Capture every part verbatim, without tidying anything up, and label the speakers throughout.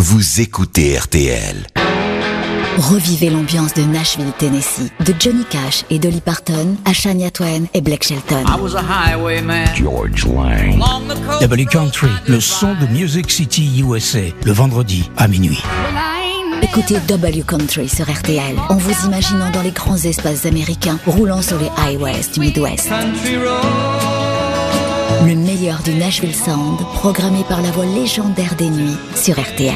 Speaker 1: vous écoutez R T L.
Speaker 2: Revivez l'ambiance de Nashville, Tennessee, de Johnny Cash et Dolly Parton à Shania Twain et Blake Shelton.
Speaker 3: I was a highwayman.
Speaker 4: George Lang. W Country, le son de Music City U S A, le vendredi à minuit.
Speaker 2: Écoutez W Country sur R T L en vous imaginant dans les grands espaces américains roulant sur les highways du Midwest. Le meilleur du Nashville Sound, programmé par la voix légendaire des nuits sur R T L.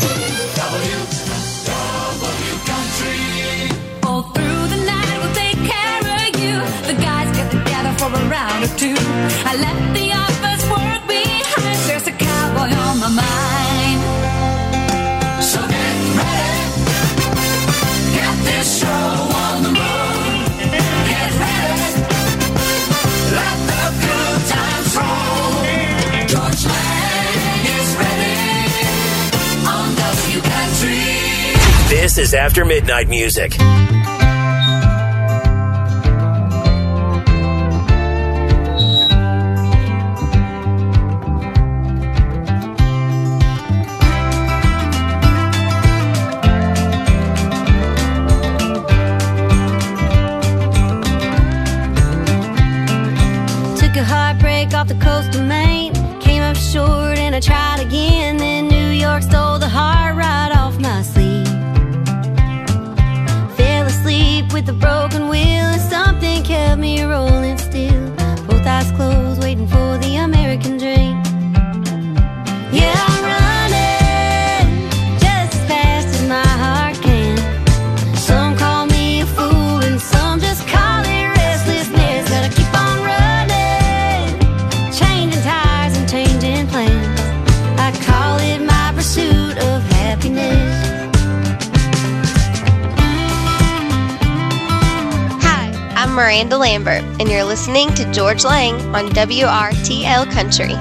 Speaker 5: This is After Midnight Music.
Speaker 6: Took a heartbreak off the coast of Maine, came up short and I tried again. Then New York stole the heart right off my sleeve. Fell asleep with a broken wheel and something kept me rolling still. Both eyes closed, waiting for the American dream. Yeah, I'm running just as fast as my heart can. Some call me a fool and some just call it restlessness. But I keep on running, changing tires and changing plans. I call it my pursuit of happiness.
Speaker 7: I'm Miranda Lambert, and you're listening to George Lang on W R T L Country.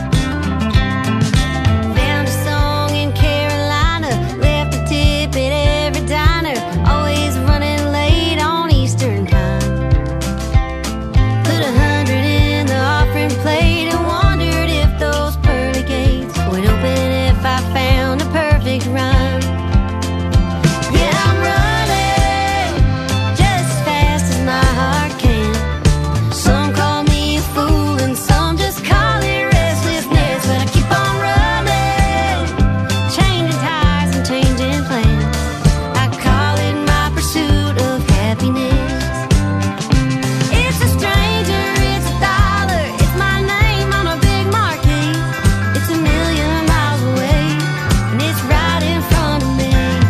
Speaker 6: Found a song in Carolina, left a tip at every diner, always running late on Eastern time. Put a hundred in the offering plate and wondered if those pearly gates would open if I found a perfect rhyme. Yeah, I'm running just as fast as my heart can. Some call me a fool and some just call it restlessness. But I keep on running, changing tires and changing plans. I call it my pursuit of happiness. It's a stranger, it's a dollar, it's my name on a big marquee. It's a million miles away and it's right in front of me.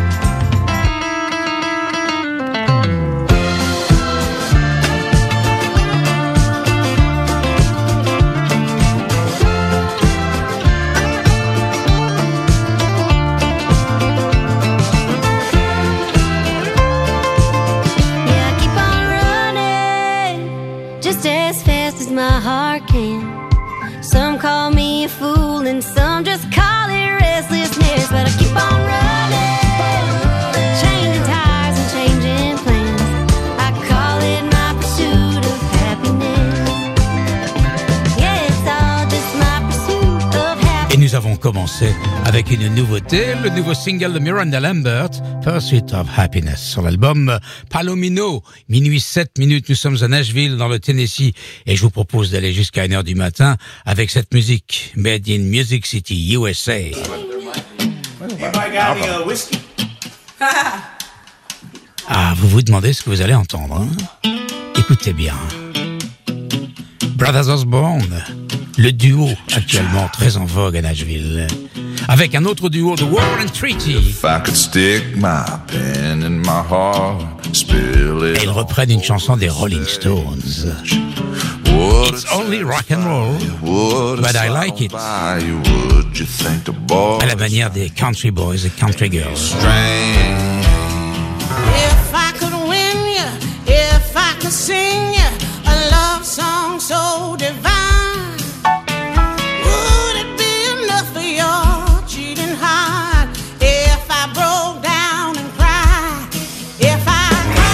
Speaker 6: Yeah, I keep on running just as fast as my heart can. Some call me a fool and some just call it restlessness. But I keep on running, changing tires and changing plans. I call it my pursuit of happiness. Yeah, it's all just my pursuit of happiness.
Speaker 4: Et nous avons commencé avec une nouveauté, le nouveau single de Miranda Lambert, Pursuit of Happiness, sur l'album Palomino. Minuit sept minutes, nous sommes à Nashville, dans le Tennessee, et je vous propose d'aller jusqu'à une heure du matin avec cette musique Made in Music City, U S A. Ah, vous vous demandez ce que vous allez entendre, hein? Écoutez bien. Brothers Osborne, le duo actuellement très en vogue à Nashville, avec un autre duo, The War and Treaty.
Speaker 8: If I could stick my pen in my heart, spill it.
Speaker 4: Et ils reprennent une chanson des Rolling Stones. It's only rock and roll, but I like it. À la manière des country boys et country girls.
Speaker 9: If I could win you, if I could sing you a love song so divine, would it be enough for your cheating heart if I broke down and cried? If I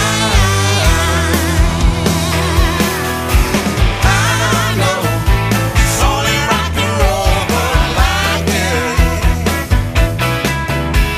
Speaker 9: I know it's only rock and roll, but I like it.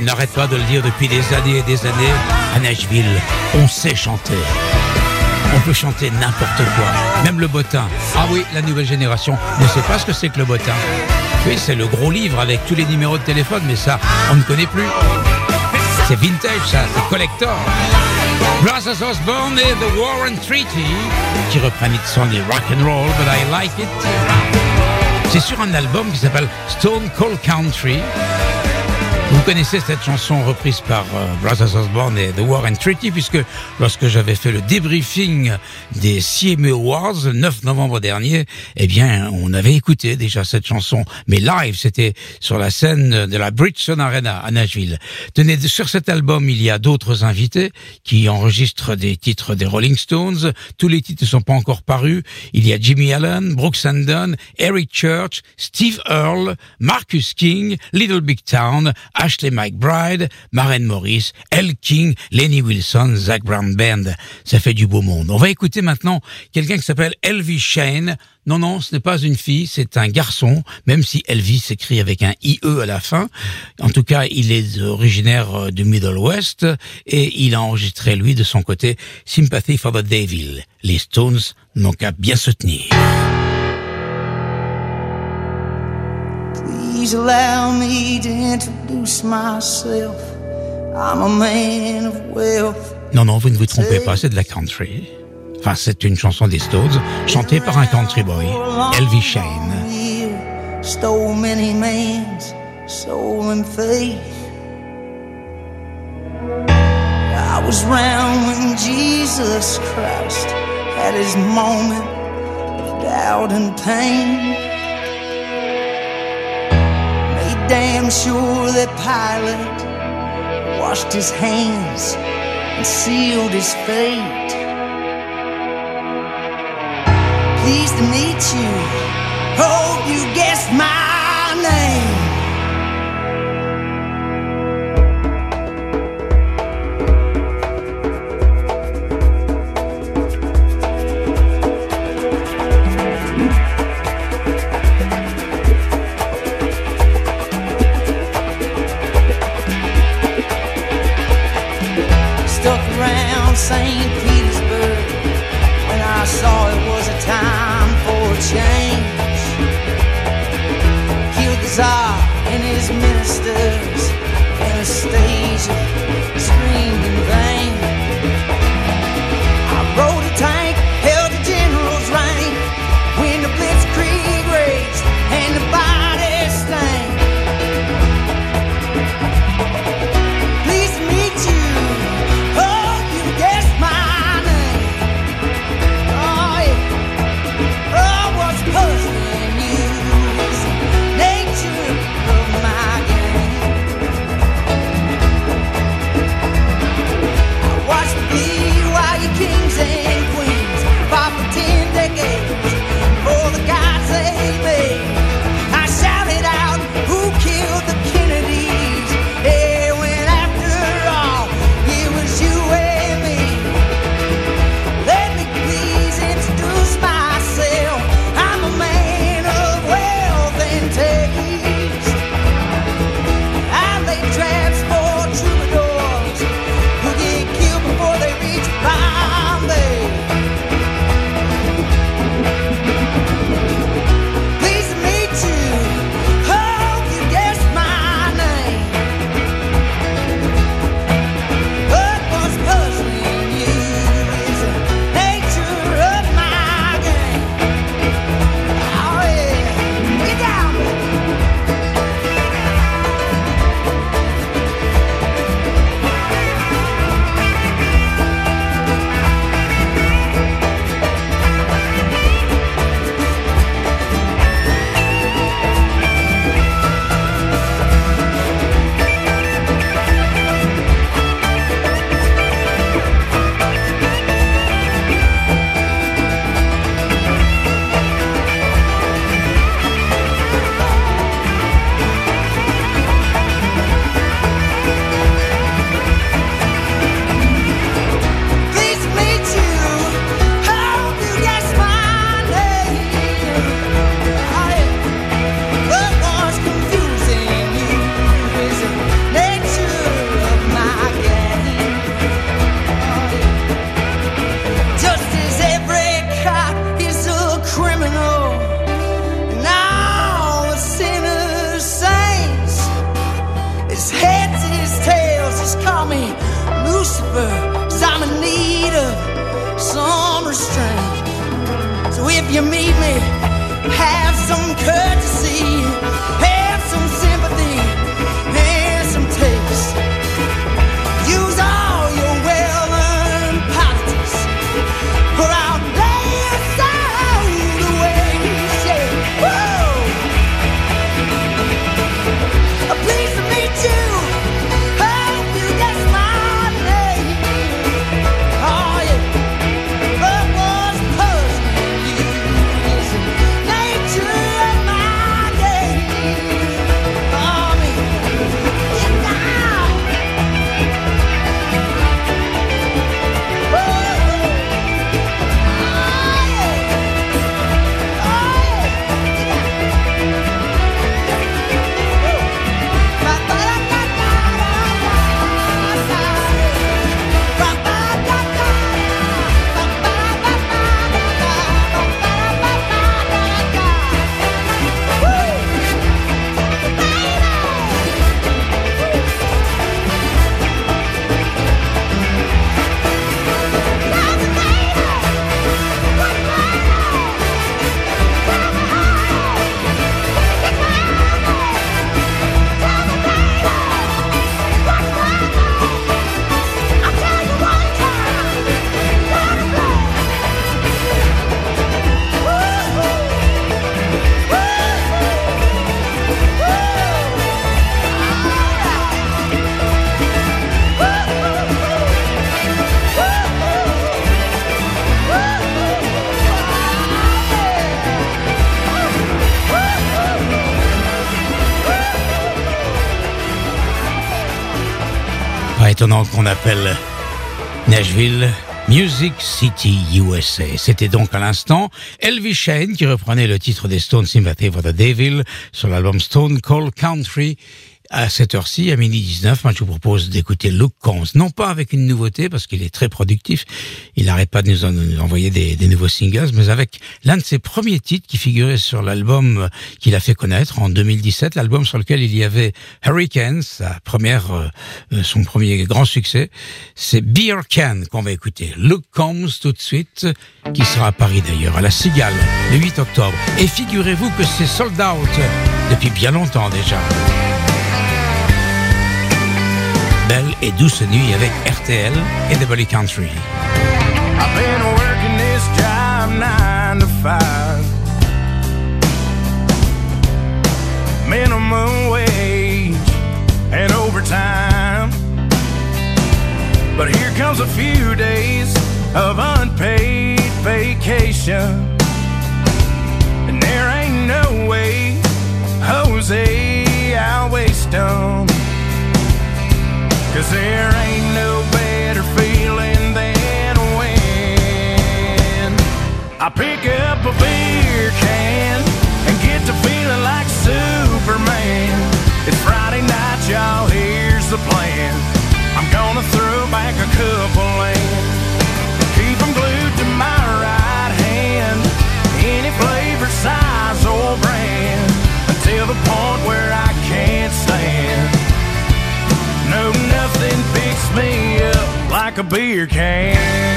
Speaker 4: n'arrête pas de le dire depuis des années et des années. À Nashville, on sait chanter. On peut chanter n'importe quoi, même le bottin. Ah oui, la nouvelle génération ne sait pas ce que c'est que le bottin. Oui, c'est le gros livre avec tous les numéros de téléphone, mais ça, on ne connaît plus. C'est vintage, ça, c'est collector. Brothers Osborne et The War and Treaty, qui reprennent It's Only Rock and Roll, but I Like It. C'est sur un album qui s'appelle Stone Cold Country. Vous connaissez cette chanson reprise par euh, Brothers Osborne et The War and Treaty, puisque lorsque j'avais fait le débriefing des C M A Awards le neuf novembre dernier, eh bien, on avait écouté déjà cette chanson, mais live, c'était sur la scène de la Bridgestone Arena à Nashville. Tenez, sur cet album, il y a d'autres invités qui enregistrent des titres des Rolling Stones. Tous les titres ne sont pas encore parus. Il y a Jimmy Allen, Brooks and Dunn, Eric Church, Steve Earle, Marcus King, Little Big Town, Ashley McBryde, Maren Morris, Elle King, Lenny Wilson, Zach Brown Band. Ça fait du beau monde. On va écouter maintenant quelqu'un qui s'appelle Elvis Shane. Non, non, ce n'est pas une fille, c'est un garçon, même si Elvis s'écrit avec un I E à la fin. En tout cas, il est originaire du Middle West et il a enregistré, lui, de son côté, Sympathy for the Devil. Les Stones n'ont qu'à bien se tenir.
Speaker 9: Please allow me to introduce myself. I'm a man of wealth.
Speaker 4: Non, non, vous ne vous trompez pas, c'est de la country. Enfin, c'est une chanson des Stones, chantée par un country boy, Elvis Shane.
Speaker 9: Stole many man's soul and faith. I was round when Jesus Christ had his moment of doubt and pain. Damn sure that Pilate washed his hands and sealed his fate. Pleased to meet you, hope you guessed my name. Saint Petersburg, when I saw it was a time for a change. Killed the Tsar and his ministers, Anastasia screamed in vain. I rode a tank, held a general's rank, when the blitzkrieg raged and the bodies stank. Pleased to meet you. Puzzling you is the nature of my game. over, 'cause I'm in need of some restraint. So if you meet me, have some courtesy, have some sympathy, and some taste. Use all your well-earned politics, or I'll lay aside the waste. Yeah. Woo! Pleased to meet you. Hope you guess my name. Oh yeah. Love was puzzling. Nature of my game. Oh man. Get down. Woo! Oh yeah. Oh
Speaker 4: Pas étonnant qu'on appelle Nashville Music City U S A. C'était donc à l'instant Elvis Shane qui reprenait le titre des Stones, Sympathy for the Devil, sur l'album Stone Cold Country. À cette heure-ci, à midi dix-neuf, moi je vous propose d'écouter Luke Combs, non pas avec une nouveauté parce qu'il est très productif, il n'arrête pas de nous, en, nous envoyer des, des nouveaux singles, mais avec l'un de ses premiers titres qui figurait sur l'album qu'il a fait connaître en deux mille dix-sept, l'album sur lequel il y avait Hurricane, sa première, euh, son premier grand succès. C'est Beer Can qu'on va écouter. Luke Combs tout de suite, qui sera à Paris d'ailleurs, à la Cigale, le huit octobre. Et figurez-vous que c'est sold out depuis bien longtemps déjà. Belle et douce nuit avec R T L et W Country.
Speaker 3: I've been working this job nine to five, minimum wage and overtime. But here comes a few days of unpaid vacation, and there ain't no way, Jose, I'll waste them. 'Cause there ain't no better feeling than when I pick up a beer can and get to feeling like Superman. It's Friday night, y'all, here's the plan. I'm gonna throw back a couple and keep them glued to my right hand. Any flavor, size, or brand, until the point where I can't stand. No, nothing picks me up like a beer can.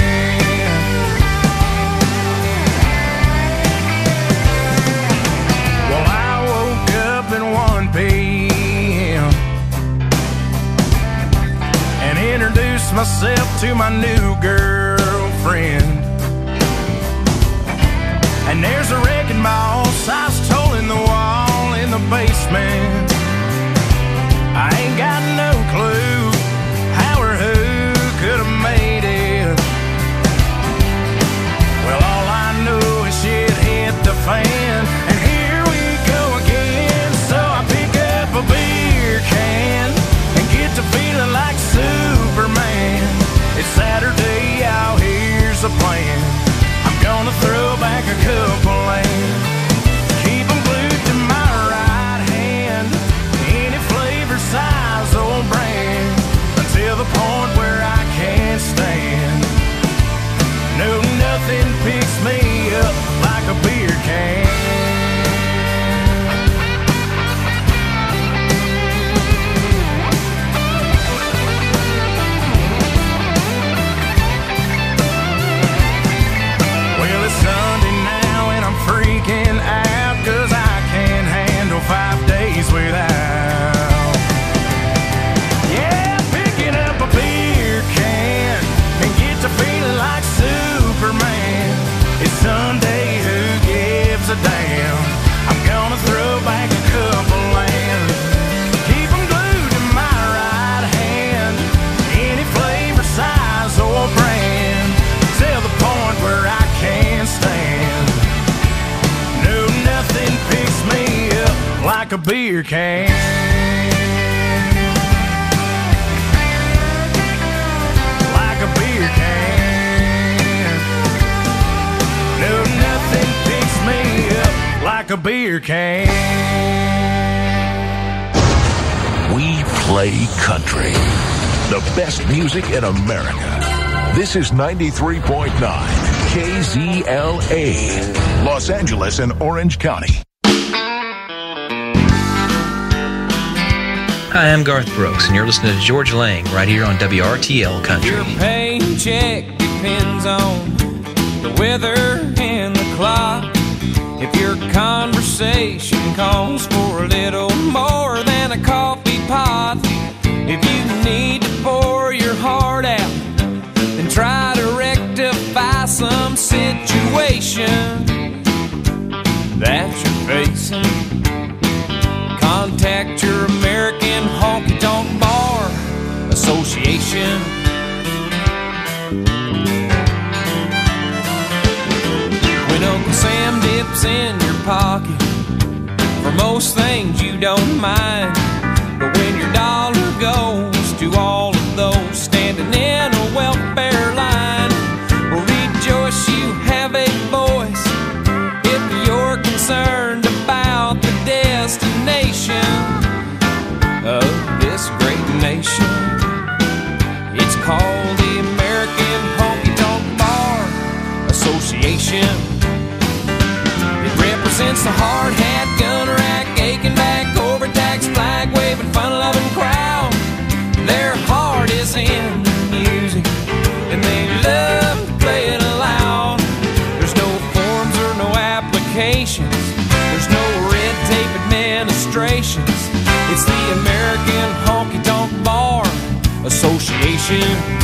Speaker 3: Well, I woke up at one p.m. and introduced myself to my new girlfriend. And there's a wrecking ball size hole in the wall in the basement. I ain't got no clue how or who could have made it. Well, all I know is shit hit the fan, and here we go again. So I pick up a beer can and get to feeling like Superman. It's Saturday, out here's the plan. I'm gonna throw back a couple and keep them glued to my right hand. Any flavor, size, or brand, until the point where I can't stand. No, nothing picks me up like a beer can. beer can. Like a beer can. No, nothing picks me up like a beer can.
Speaker 10: We play country. The best music in America. This is ninety-three point nine K Z L A, Los Angeles and Orange County.
Speaker 11: Hi, I'm Garth Brooks, and you're listening to George Lang right here on W R T L Country.
Speaker 3: Your paycheck depends on the weather and the clock. If your conversation calls for a little more than a coffee pot, if you need to pour your heart out, then try to rectify some situation that you're facing. Contact your American Honky Tonk Bar Association. When Uncle Sam dips in your pocket, for most things you don't mind, but when your dollar goes to all of those standing in a welfare line, well, rejoice you have a voice if you're concerned about the destination of this great nation. It's called the American Honky Tonk Bar Association. It represents the hard hat, gun rack, aching back, overtaxed, flag waving, fun loving crowd. Their heart is in the music, and they love to play it aloud. There's no forms or no applications. There's no red tape administrations. It's the American Honky Tonk Bar Association.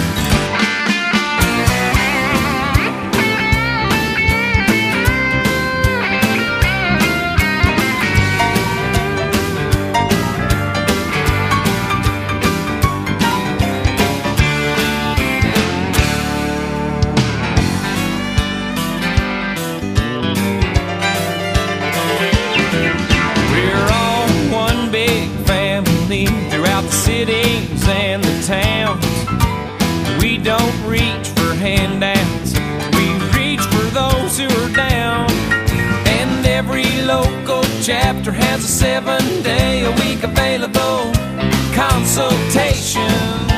Speaker 3: Cities and the towns, we don't reach for handouts, we reach for those who are down. And every local chapter has a seven day a week available consultation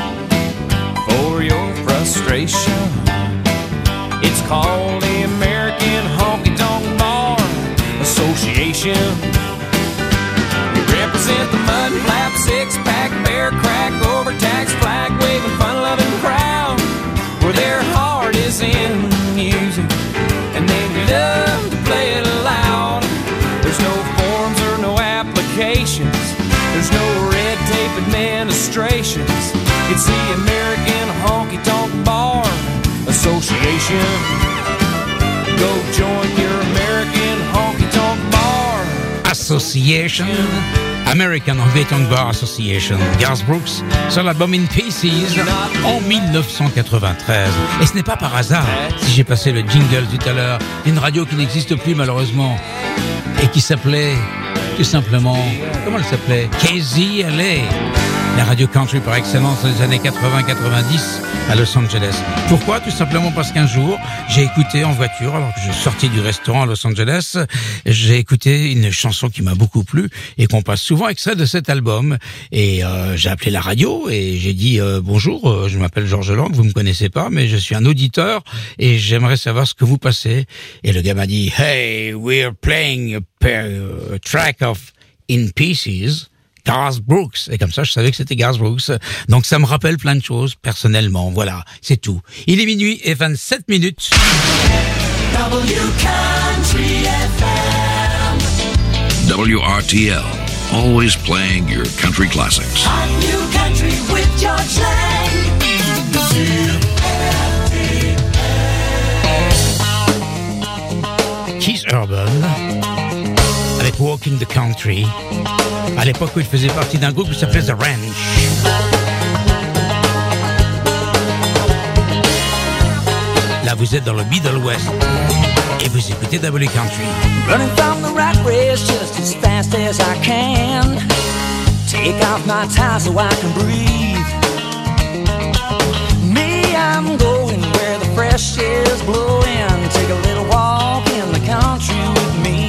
Speaker 3: for your frustration. It's called the American Honky Tonk Bar Association. Represent the mud flap, six pack, bear crack, overtaxed, flag waving, fun loving crowd, where their heart is in music and they love to play it loud. There's no forms or no applications. There's no red tape administrations. It's the American Honky Tonk Bar Association. Go join your American Honky Tonk Bar
Speaker 4: Association. American Honky Tonk Bar Association, Garth Brooks, sur l'album In Pieces en dix-neuf cent quatre-vingt-treize. Et ce n'est pas par hasard si j'ai passé le jingle tout à l'heure d'une radio qui n'existe plus malheureusement et qui s'appelait tout simplement, comment elle s'appelait? K Z L A, la radio country par excellence des années quatre-vingts quatre-vingt-dix à Los Angeles. Pourquoi? Tout simplement parce qu'un jour, j'ai écouté en voiture, alors que je sortais du restaurant à Los Angeles, j'ai écouté une chanson qui m'a beaucoup plu et qu'on passe souvent extrait de cet album. Et euh, j'ai appelé la radio et j'ai dit euh, bonjour, euh, je m'appelle Georges Lang, vous me connaissez pas, mais je suis un auditeur et j'aimerais savoir ce que vous passez. Et le gars m'a dit, hey, we're playing a, a track of In Pieces. Garth Brooks. Et comme ça, je savais que c'était Garth Brooks. Donc, ça me rappelle plein de choses, personnellement. Voilà, c'est tout. Il est minuit et vingt-sept minutes.
Speaker 12: W Country F M.
Speaker 10: W R T L, always playing your country classics.
Speaker 12: On New Country with George Lang.
Speaker 4: Keith Urban, avec Walking the Country, à l'époque où il faisait partie d'un groupe qui s'appelait The Ranch. Là, vous êtes dans le Middle West. Et vous écoutez W Country.
Speaker 12: Running from the rat race just as fast as I can. Take off my tie so I can breathe. Me, I'm going where the fresh air's blowing. Take a little walk in the country with me.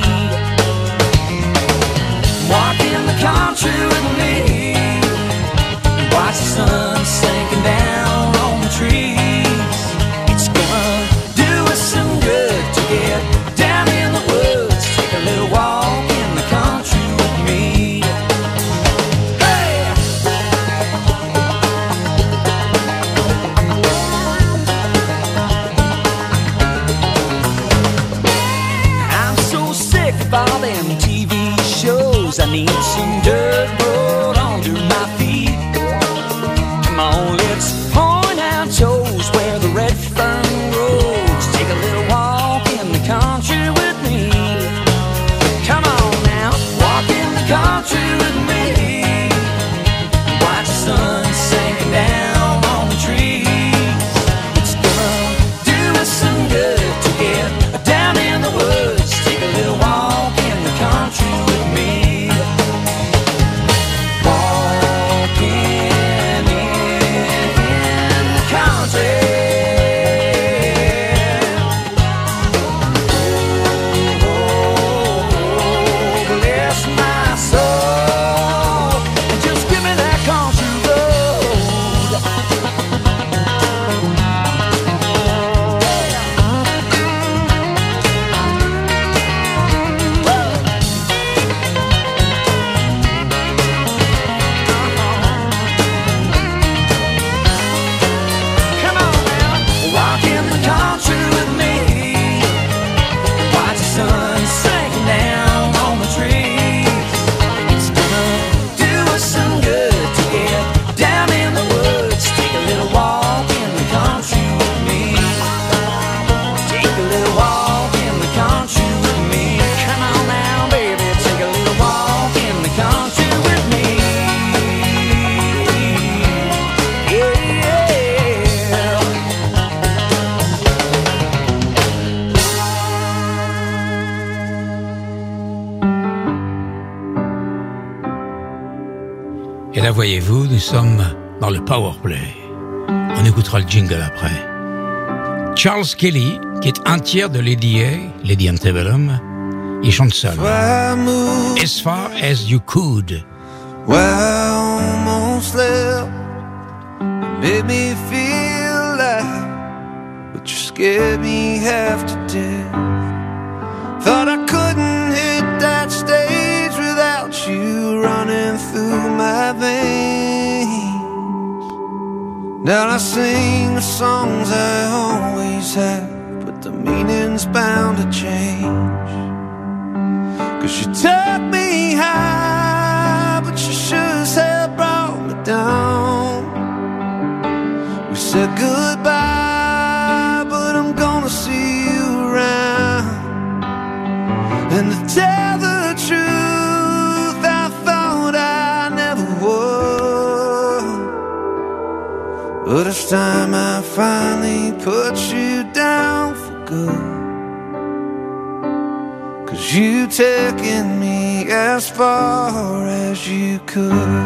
Speaker 12: Walk in the country with me. Watch the sun sinking down on the trees. It's gonna do us some good to get down in the woods. Take a little walk in the country with me. Hey! I'm so sick of all them T V shows. I need some dirt road under my feet. Come on, let's point out toes where the red fern grows. Take a little walk in the country with me. Come on now, walk in the country with me. Watch the sun sinking down on the trees. It's gonna do us some good to get down in the woods. Take a little walk in the country with me. Walking
Speaker 4: Et là, voyez-vous, nous sommes dans le powerplay. On écoutera le jingle après. Charles Kelly, qui est un tiers de Lady A, Lady Antebellum, il chante seul. As far as you could.
Speaker 13: Well, I almost left. Made me feel like, but you scared me half to death. Thought I couldn't hit that stage without you running through my veins. Now I sing the songs I always have, but the meaning's bound to change. Cause you took me high, but you sure as hell brought me down. We said goodbye, but I'm gonna see you around. And to tell the truth, I thought I never would. But it's time I finally put you down for good. Cause you taken me as far as you could.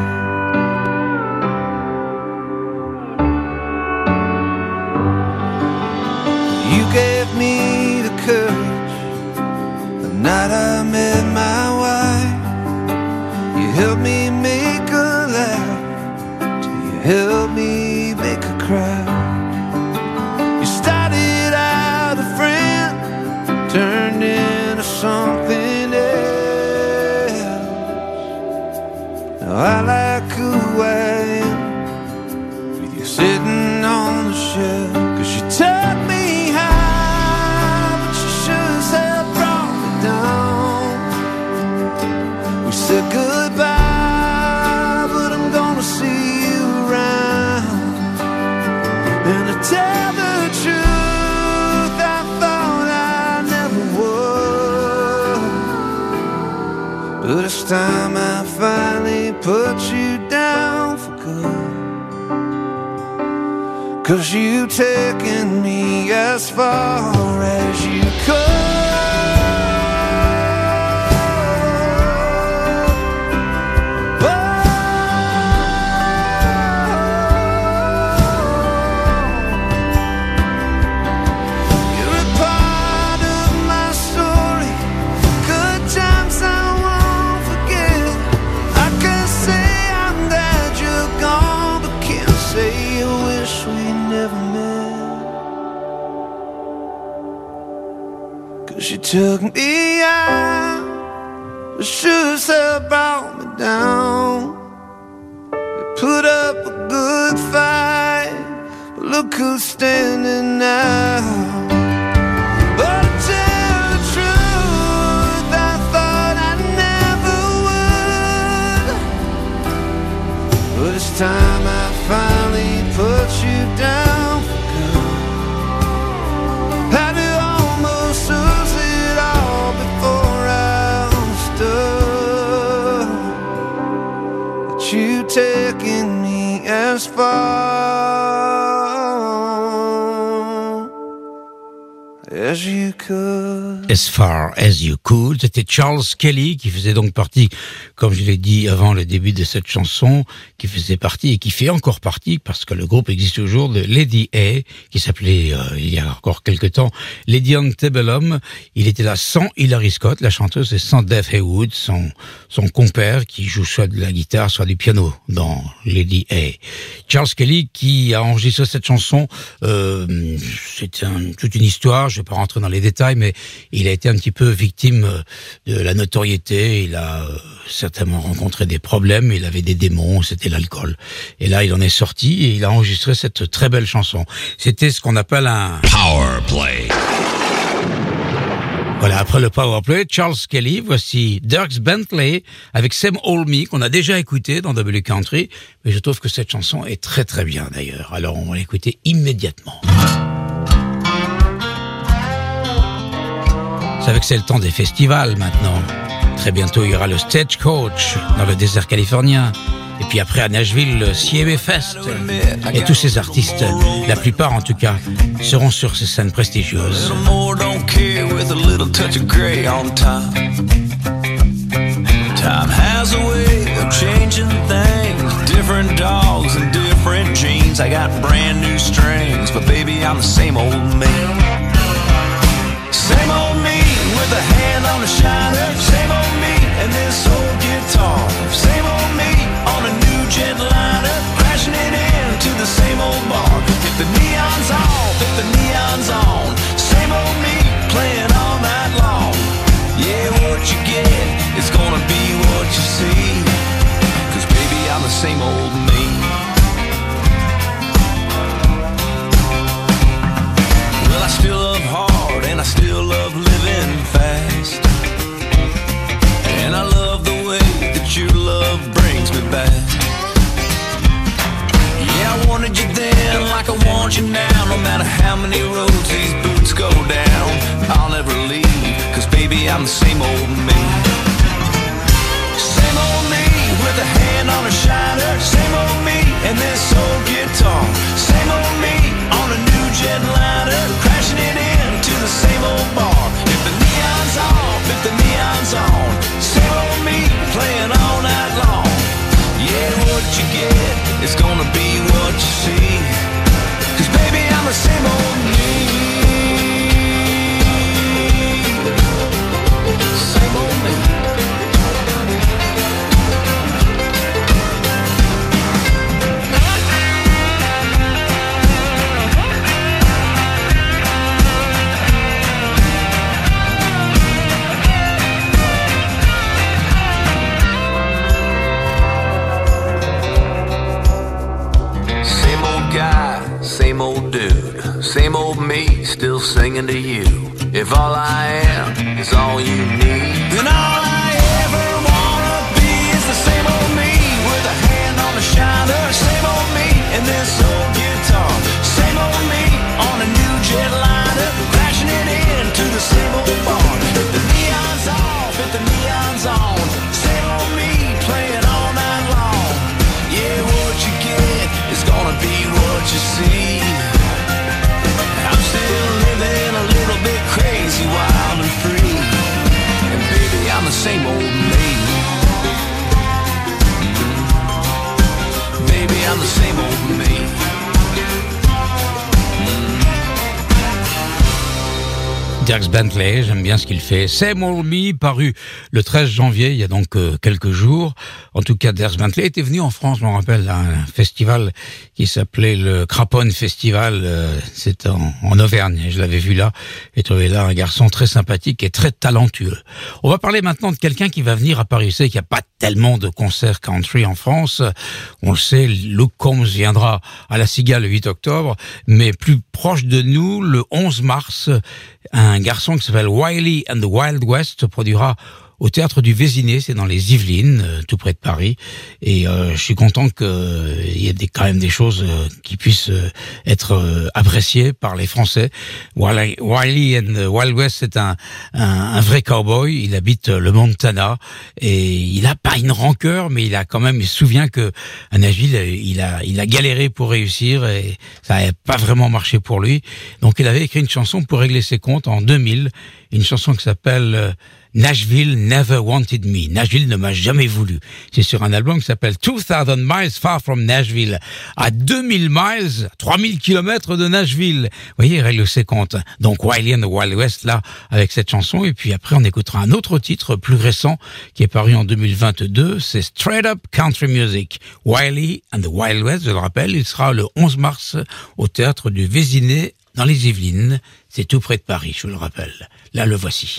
Speaker 13: You gave me the courage the night I met my wife. You helped me make her laugh till you helped me make her cry. You started out a friend, turned into something else. Now I like who I am, with you sitting on the shelf. Cause you took me high, but you sure as hell brought me down. We said goodbye, but I'm gonna see you around. And to tell the truth, I thought I never would. But it's time I finally put you down for good. 'cause you've taken me as far as you could. You took me out, the shoes have brought me down. You put up a good fight, but look who's standing now. But to tell the truth, I thought I never would. But it's time I finally put you down for good. Had to almost lose it all before I understood that you taking me as far as you could.
Speaker 4: As far as you could. C'était Charles Kelly qui faisait donc partie, comme je l'ai dit avant le début de cette chanson, qui faisait partie et qui fait encore partie, parce que le groupe existe toujours, de Lady A, qui s'appelait euh, il y a encore quelque temps Lady Antebellum. Il était là sans Hilary Scott, la chanteuse, et sans Dave Haywood, son son compère, qui joue soit de la guitare, soit du piano dans Lady A. Charles Kelly qui a enregistré cette chanson, euh, c'est un, toute une histoire. Je vais pas rentrer dans les détails, mais il a été un petit peu victime de la notoriété. Il a euh, certainement rencontré des problèmes. Il avait des démons, c'était l'alcool. Et là, il en est sorti et il a enregistré cette très belle chanson. C'était ce qu'on appelle un
Speaker 1: Power Play.
Speaker 4: Voilà, après le Power Play, Charles Kelly, voici Dierks Bentley avec Same Old Me, qu'on a déjà écouté dans W Country, mais je trouve que cette chanson est très très bien d'ailleurs. Alors on va l'écouter immédiatement. Vous savez que c'est le temps des festivals maintenant. Très bientôt, il y aura le Stagecoach dans le désert californien. Et puis après, à Nashville, le C M A Fest. Et tous ces artistes, la plupart en tout cas, seront sur ces scènes prestigieuses.
Speaker 14: Time has a way of changing things. Different dogs and different genes. I got brand new strings, but baby, I'm the same old me. Same old me with a hand on the shiner. Same old me and this old guitar. Same old me on a new jetliner, crashing it into the same old bar. If the neon's off, if the neon's on, same old me playing all night long. Yeah, what you get is gonna be what you see. 'Cause baby, I'm the same old me. Well, I still love hard and I still love living fast. And I love the way that your love brings me back. Yeah, I wanted you then like I want you now. No matter how many roads these boots go down, I'll never leave, 'cause baby, I'm the same old me. Same old me with a hand on a shiner. Same old me and this old guitar. Same old me on a new jetliner, crashing it into the same old bar. If the neon's off, if the neon's on, same old me playing all night long. Yeah, what you get is gonna be what you see. 'Cause baby, I'm the same old me. Same old me. Same old dude, same old me, still singing to you. If all I am is all you need, then all I ever wanna be is the same old me with a hand on the shiner. Same old me and this old guitar. Same old me on a new jetliner, crashing it into the same old bar. If the neon's off, if the neon's on, same old me playing all night long. Yeah, what you get is gonna be what you see.
Speaker 4: Dierks Bentley, j'aime bien ce qu'il fait. Same Old Me, paru le treize janvier, il y a donc euh, quelques jours. En tout cas, Dierks Bentley était venu en France, je me rappelle, à un festival qui s'appelait le Craponne Festival. Euh, C'était en, en Auvergne, je l'avais vu là. J'ai trouvé là un garçon très sympathique et très talentueux. On va parler maintenant de quelqu'un qui va venir à Paris. Vous savez qu'il n'y a pas tellement de concerts country en France. On le sait, Luke Combs viendra à la Cigale le huit octobre, mais plus proche de nous, le onze mars, un garçon qui s'appelle Wiley and the Wild West se produira au Théâtre du Vésiné, c'est dans les Yvelines, euh, tout près de Paris. Et euh, je suis content qu'il euh, y ait des, quand même des choses euh, qui puissent euh, être euh, appréciées par les Français. Wiley, Wiley and the Wild West, c'est un, un, un vrai cowboy. Il habite le Montana et il a pas une rancœur, mais il a quand même, il se souvient que à Nashville, il a, il a galéré pour réussir et ça n'a pas vraiment marché pour lui. Donc il avait écrit une chanson pour régler ses comptes en deux mille, une chanson qui s'appelle euh, Nashville Never Wanted Me. Nashville ne m'a jamais voulu. C'est sur un album qui s'appelle two thousand miles Far from Nashville. À deux mille miles, trois mille kilomètres de Nashville. Vous voyez, il règle ses comptes. Donc Wiley and the Wild West, là, avec cette chanson. Et puis après, on écoutera un autre titre plus récent qui est paru en deux mille vingt-deux. C'est Straight Up Country Music. Wiley and the Wild West, je le rappelle, il sera le onze mars au Théâtre du Vésiné dans les Yvelines. C'est tout près de Paris, je vous le rappelle. Là, le voici.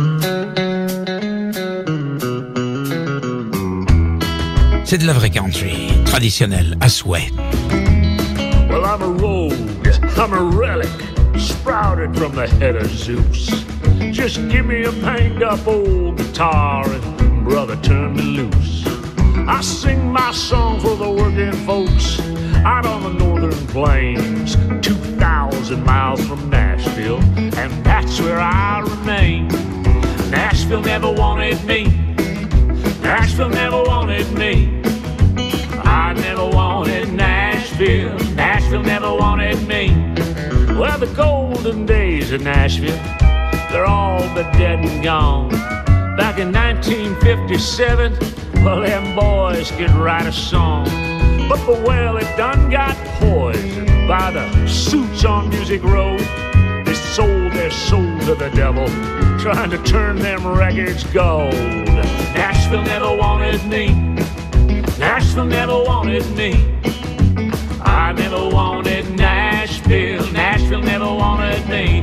Speaker 4: C'est de la vraie country, traditionnelle, à souhait.
Speaker 15: Well, I'm a rogue, I'm a relic, sprouted from the head of Zeus. Just give me a banged up old guitar and brother, turn me loose. I sing my song for the working folks out on the northern plains, two thousand miles from Nashville, and that's where I remain. Nashville never wanted me, Nashville never wanted me. I never wanted Nashville, Nashville never wanted me. Well, the golden days of Nashville, they're all but dead and gone. Back in nineteen fifty-seven, well, them boys could write a song. But the well, it done got poisoned by the suits on Music Road. They sold their soul to the devil, trying to turn them records gold. Nashville never wanted me, Nashville never wanted me. I never wanted Nashville, Nashville never wanted me.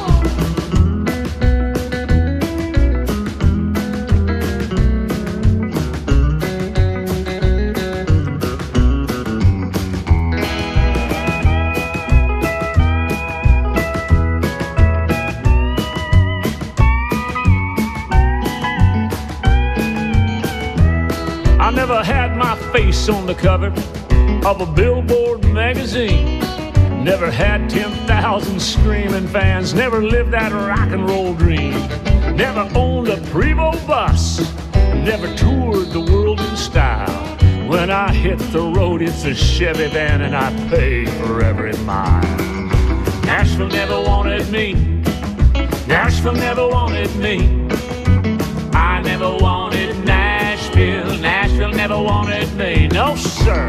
Speaker 15: Never had my face on the cover of a Billboard magazine. Never had ten thousand screaming fans. Never lived that rock and roll dream. Never owned a Prevost bus. Never toured the world in style. When I hit the road, it's a Chevy van and I pay for every mile. Nashville never wanted me, Nashville never wanted me. I never wanted Nashville, Nashville never wanted me, no sir.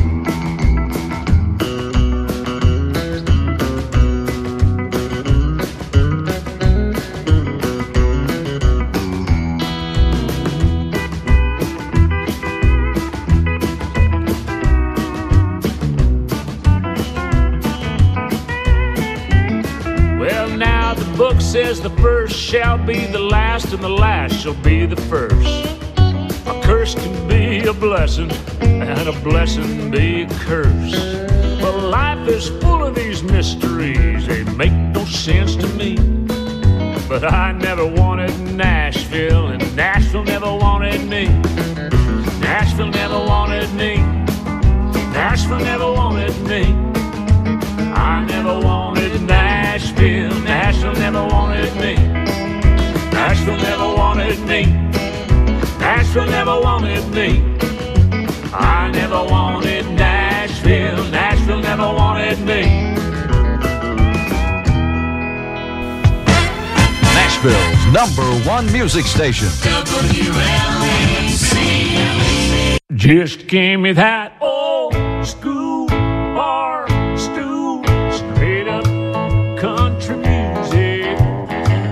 Speaker 15: Well, now the book says the first shall be the last and the last shall be the first. A curse can be a blessing, and a blessing be a curse. But life is full of these mysteries, they make no sense to me. But I never wanted Nashville, and Nashville never wanted me. Nashville never wanted me, Nashville never wanted me. I never wanted Nashville, Nashville never wanted me. Nashville never wanted me, Nashville never wanted me. I never wanted Nashville, Nashville never wanted me.
Speaker 16: Nashville's number one music station.
Speaker 15: W L A C. Just give me that old school bar stool, straight up country music.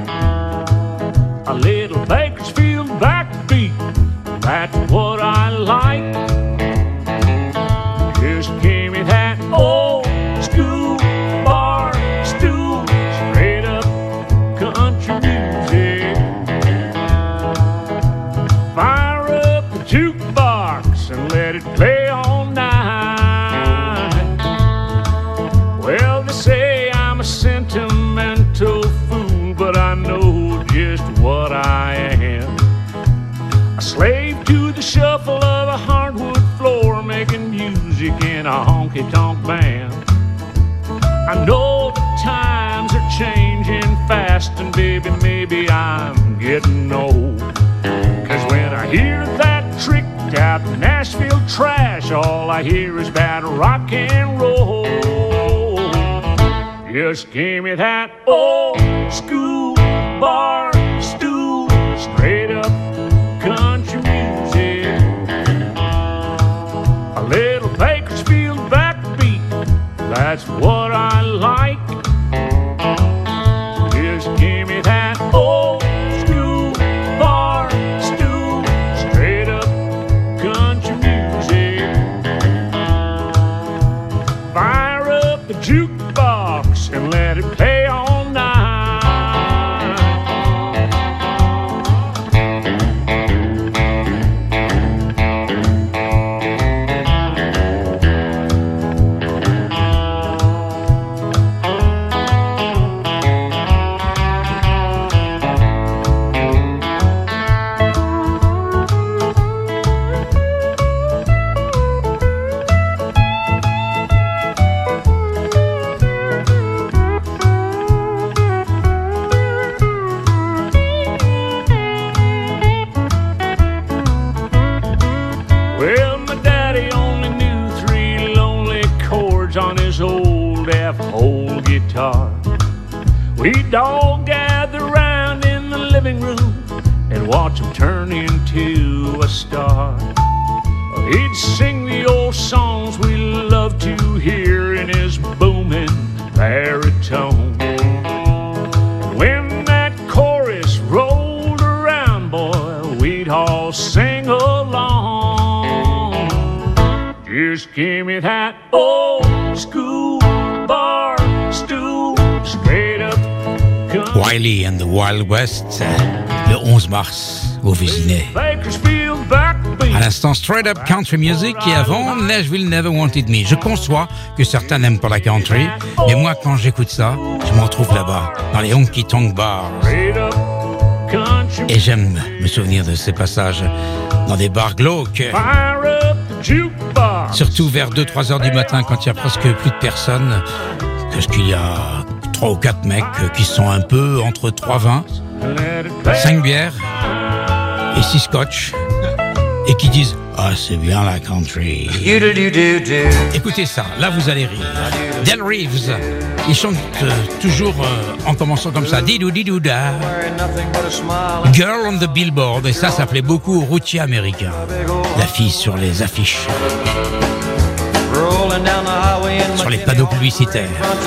Speaker 15: I know the times are changing fast, and baby, maybe I'm getting old. Cause when I hear that tricked out Nashville trash, all I hear is bad rock and roll. Just give me that old school bar stool, straight up country music. A little Bakersfield backbeat, that's what I like. Just give me that old school bar stool, straight up country music. Fire up the jukebox and let it play all night. Well, my daddy only knew three lonely chords on his old F-hole guitar. We'd all gather round in the living room and watch him turn into a star. He'd sing the old songs we loved to hear in his booming baritone. And when that chorus rolled around, boy, we'd all sing along. Just give me that old school bar stool, straight up.
Speaker 4: Wiley and the Wild West, le onze mars, au Vésinet. À l'instant, Straight Up Country Music, et avant, Nashville Never Wanted Me. Je conçois que certains n'aiment pas la country, mais moi, quand j'écoute ça, je me retrouve là-bas, dans les honky tonk bars. Et j'aime me souvenir de ces passages dans des bars glauques. Surtout vers deux trois heures du matin, quand il y a presque plus de personnes, parce qu'il y a trois ou quatre mecs qui sont un peu entre trois vins, cinq bières et six scotch, et qui disent « Ah, c'est bien la country ». Écoutez ça, là vous allez rire. Del Reeves, il chante euh, toujours euh, en commençant comme ça. Didou didou da. Girl on the Billboard, et ça, ça plaît beaucoup aux routiers américains. La fille sur les affiches, sur les panneaux publicitaires.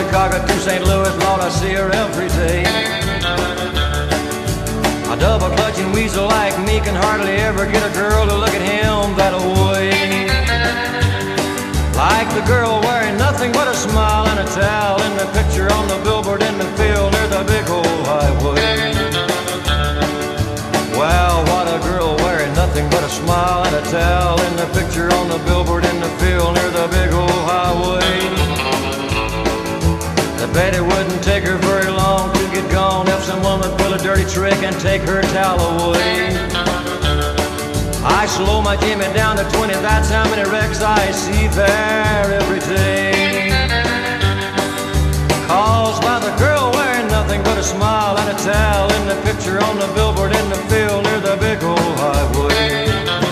Speaker 17: A double clutching weasel like me can hardly ever get a girl to look at him that way. Like the girl wearing nothing but a smile and a towel in the picture on the billboard in the field near the big old highway. Well, what a girl wearing nothing but a smile and a towel in the picture on the billboard in the field near the big old highway. I bet it wouldn't take her very long to get gone if someone would pull a dirty trick and take her towel away. I slow my Jimmy down to twenty, that's how many wrecks I see there every day. Caused by the girl wearing nothing but a smile and a towel in the picture on the billboard in the field near the big old highway.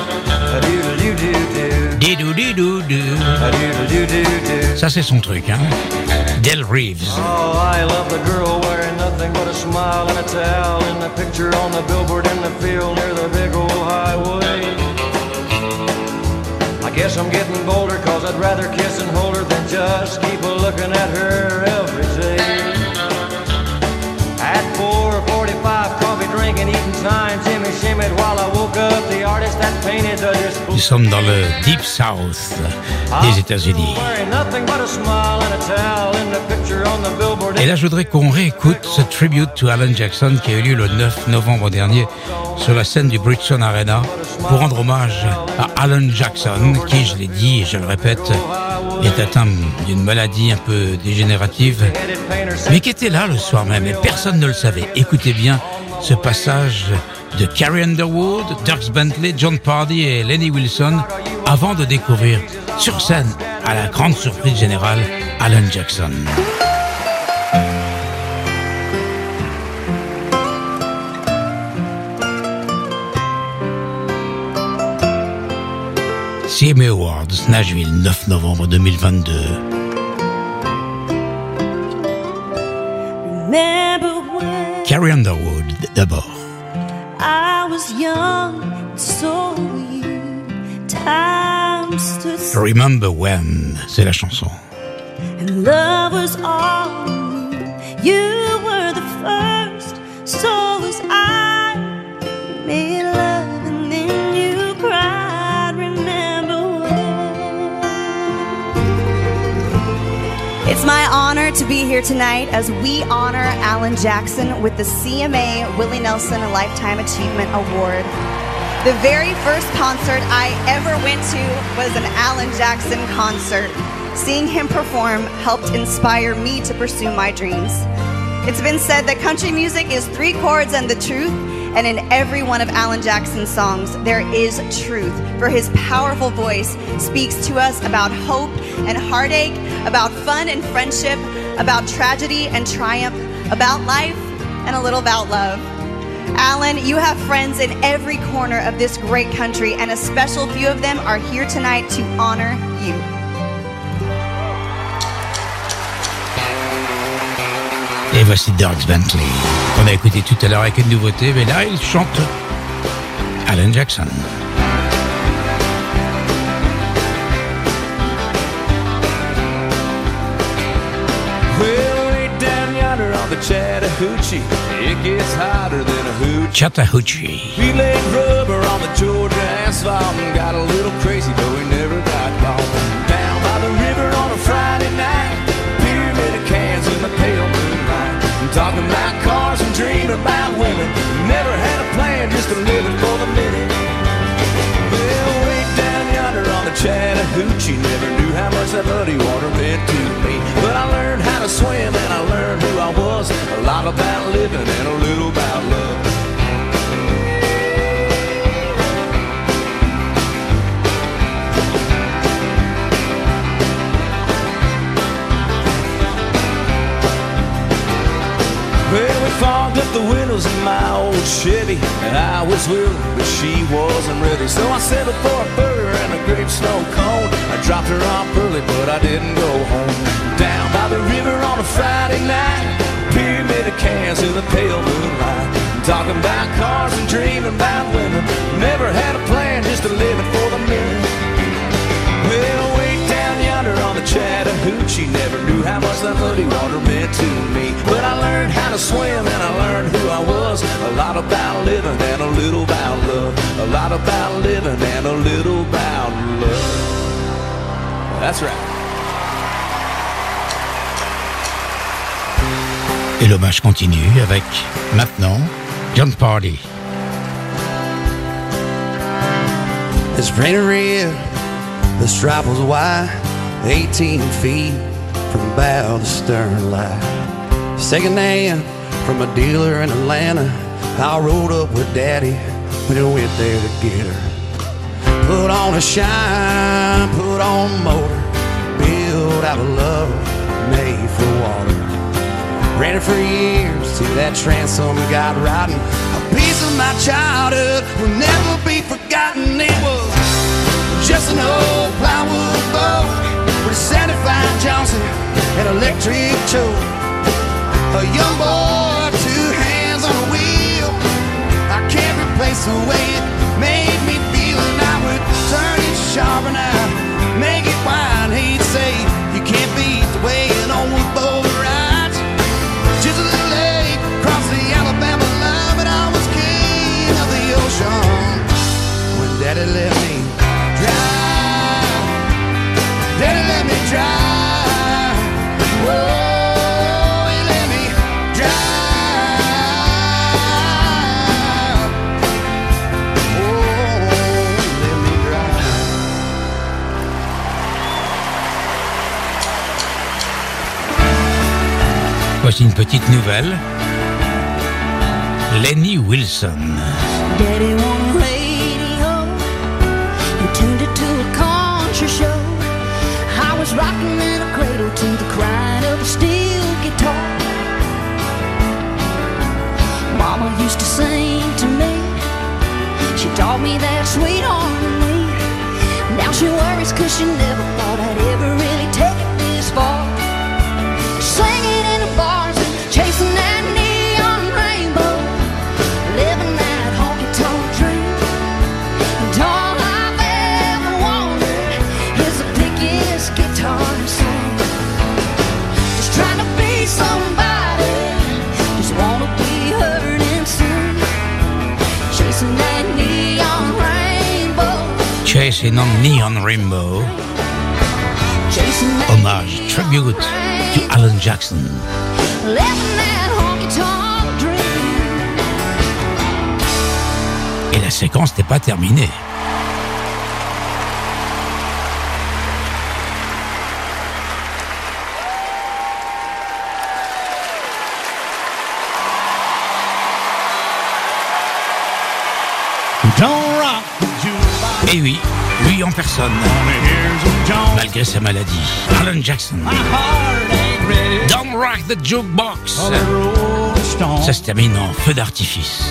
Speaker 4: Didou didou dou. Ça c'est son truc, hein. Del Reeves.
Speaker 17: Oh, I love the girl wearing nothing but a smile and a towel in the picture on the billboard in the field near the big old highway. I guess I'm getting bolder, cause I'd rather kiss and hold her than just keep a looking at her every day. At four forty-five, coffee drinking, eating time, Jimmy shimmied while I woke up the artist that painted the display.
Speaker 4: Nous sommes dans le Deep South des États-Unis. Et là, je voudrais qu'on réécoute ce tribute to Alan Jackson qui a eu lieu le neuf novembre dernier sur la scène du Bridgestone Arena pour rendre hommage à Alan Jackson qui, je l'ai dit et je le répète, est atteint d'une maladie un peu dégénérative, mais qui était là le soir même et personne ne le savait. Écoutez bien ce passage de Carrie Underwood, Dierks Bentley, John Pardy et Lenny Wilson avant de découvrir sur scène, à la grande surprise générale, Alan Jackson. C M A Awards, Nashville, neuf novembre deux mille vingt-deux.
Speaker 18: Remember when
Speaker 4: Carrie Underwood, d'abord.
Speaker 18: I was young, so you time stood still,
Speaker 4: Remember When, c'est la chanson.
Speaker 18: and love was all you were the first, so was I. You made love and then you cried. Remember when?
Speaker 19: It's my honor to be here tonight as we honor Alan Jackson with the C M A Willie Nelson Lifetime Achievement Award. The very first concert I ever went to was an Alan Jackson concert. Seeing him perform helped inspire me to pursue my dreams. It's been said that country music is three chords and the truth, and in every one of Alan Jackson's songs, there is truth, for his powerful voice speaks to us about hope and heartache, about fun and friendship, about tragedy and triumph, about life, and a little about love. Alan, you have friends in every corner of this great country, and a special few of them are here tonight to honor you.
Speaker 4: Et voici Dierks Bentley, qu'on a écouté tout à l'heure avec une nouveauté, mais là, il chante Alan Jackson.
Speaker 13: Well, way down yonder on the Chattahoochee, it gets hotter than a hoochie.
Speaker 4: Chattahoochee.
Speaker 13: We laid rubber on the Georgia asphalt and got a little crazy, but we never got caught. Down by the river on a Friday night, pyramid of cans in the pale moonlight. I'm talking about cars and dreaming about women. Never had a plan, just a living for the minute. Well, way down yonder on the Chattahoochee, never knew how much that muddy water meant to me. But I learned how to swim and I learned who I was. A lot about living and a little about love. Well, we fogged up the windows in my old Chevy, and I was willing, but she wasn't ready. So I settled for a burger and a grape snow cone. I dropped her off early, but I didn't go home. Down by the river on a Friday night, pyramid of cans in the pale moonlight. I'm talking about cars and dreaming about women. Never had a plan, just a living for the minute. Well, way down yonder on the Chattahoochee, never knew how much that muddy water meant to me. But I learned how to swim and I learned who I was. A lot about living and a little about love. A lot about living and a little about love. That's right.
Speaker 4: Et l'hommage continue avec, maintenant, John Party.
Speaker 20: It's raining red, the stripe was white, eighteen feet from bow to stern light. Second hand from a dealer in Atlanta, I rode up with Daddy when he went there to get her. Put on a shine, put on a motor, built out of love, made for water. Ran it for years till that transom got rotten. A piece of my childhood will never be forgotten. It was just an old plywood boat with a seventy-five Johnson and electric choke. A young boy, two hands on a wheel. I can't replace the way it made me feel. And I would turn it sharp and I'd make it wide. He'd say, you can't beat the way an old boat rides. Just a little late, across the Alabama line, but I was king of the ocean when Daddy let me drive. Daddy let me drive. Whoa, he let me drive. Oh, let me drive.
Speaker 4: Voici une petite nouvelle. Lenny Wilson.
Speaker 18: Daddy on the radio, he tuned it to a country show. I was rocking in a cradle to the crying of a steel guitar. Mama used to sing to me, she taught me that sweet harmony. Now she
Speaker 6: stories, cause she never thought I'd ever really take it this far. Singing in the bars and chasing that neon rainbow, living that honky-tonk dream. And all I've ever wanted is the biggest guitar to sing. Just trying to be somebody, just wanna be heard and sing. Chasing that neon rainbow.
Speaker 4: Chasing on Neon Rainbow. Hommage, tribute to Alan Jackson.
Speaker 6: Living that honky-tonk dream.
Speaker 4: Et la séquence n'est pas terminée. Et oui, lui en personne, malgré sa maladie, Alan Jackson. Don't rock the jukebox. Ça se termine en feu d'artifice.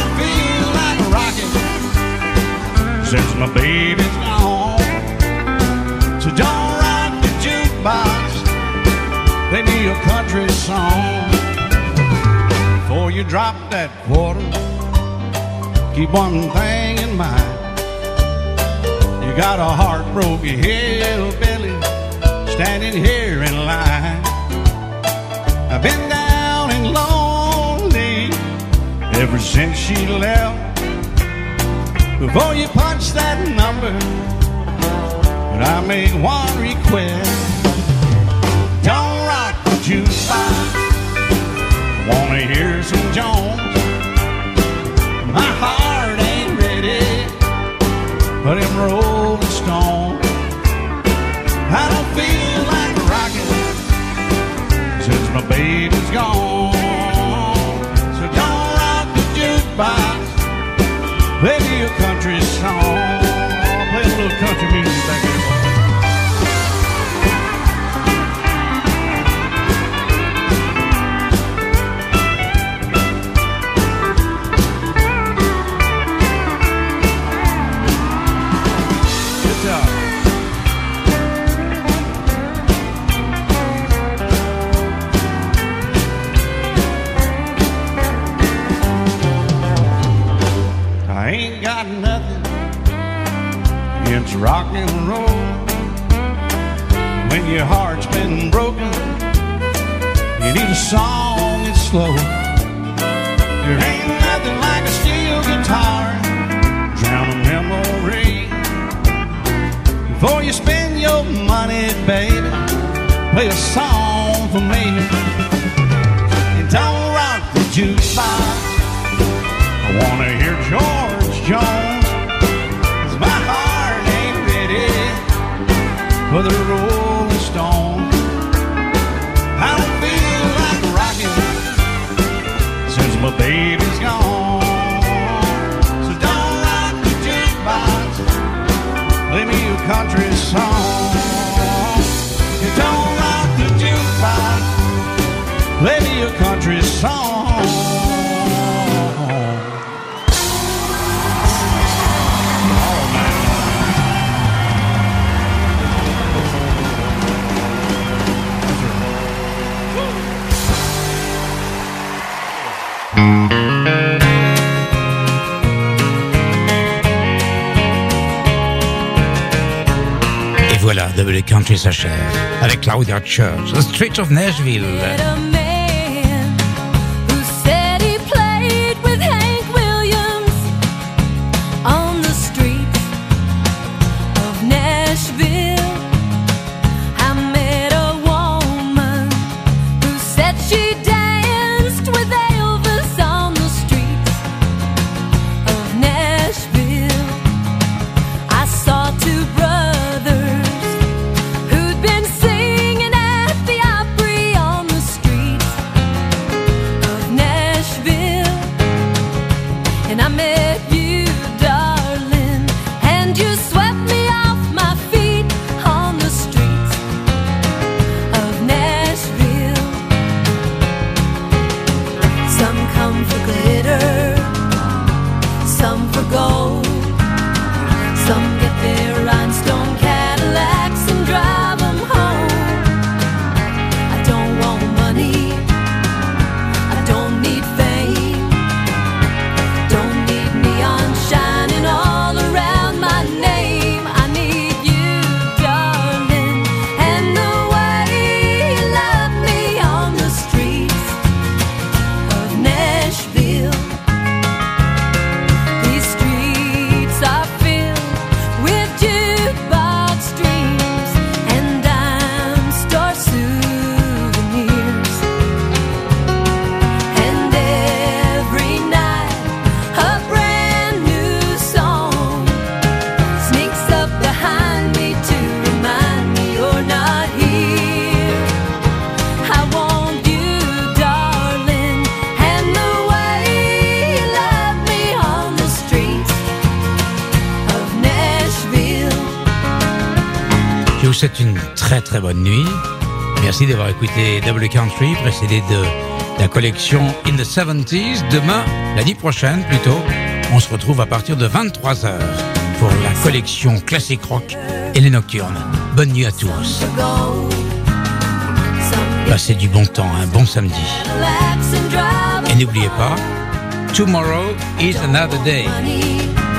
Speaker 13: Since my baby's gone, so don't rock the jukebox. Play me a country song. Before you drop that quarter, keep one thing in mind. You got a heartbroken hillbilly standing here in line. I've been down and lonely ever since she left. Before you punch that number, but I make one request. Don't rock the jukebox. I wanna hear some Jones. My heart ain't ready for them Rolling Stones. I don't feel like rocking since my baby's gone. So don't rock the jukebox. Play me a country song. Play a little country music back here. Good job. I ain't got nothing against rock and roll. When your heart's been broken, you need a song that's slow. There ain't nothing like a steel guitar, drown a memory. Before you spend your money, baby, play a song for me. And don't rock the jukebox. I wanna hear George Jones, 'cause my heart ain't ready for the Rolling Stones. I don't feel like rocking since my baby's gone. So don't rock the jukebox, play me a country song. You don't rock the jukebox, play me a country song.
Speaker 4: Et voilà, W Country s'achève avec Claudia Church, The Streets of Nashville.
Speaker 6: Brothers who'd been singing at the Opry on the streets
Speaker 4: Je vous souhaite une très très bonne nuit. Merci d'avoir écouté Double Country, précédé de la collection In the seventies. Demain, la nuit prochaine plutôt, on se retrouve à partir de vingt-trois heures pour la collection classique rock et les nocturnes. Bonne nuit à tous. Passez du bon temps, un bon samedi. Et n'oubliez pas, tomorrow is another day.